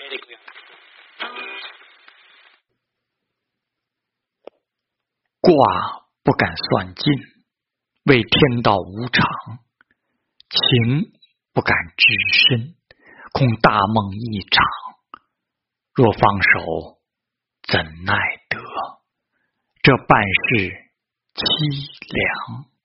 卦不敢算尽，为天道无常；情不敢至深，恐大梦一场。若放手，怎奈得？这半世凄凉。